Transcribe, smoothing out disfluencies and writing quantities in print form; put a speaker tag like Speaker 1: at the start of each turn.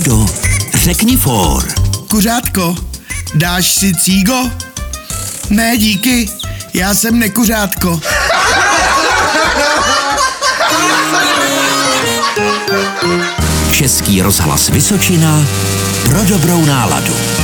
Speaker 1: Frejdo, řekni for.
Speaker 2: Kuřátko, dáš si cígo? Ne, díky, já jsem nekuřátko.
Speaker 1: Český rozhlas Vysočina pro dobrou náladu.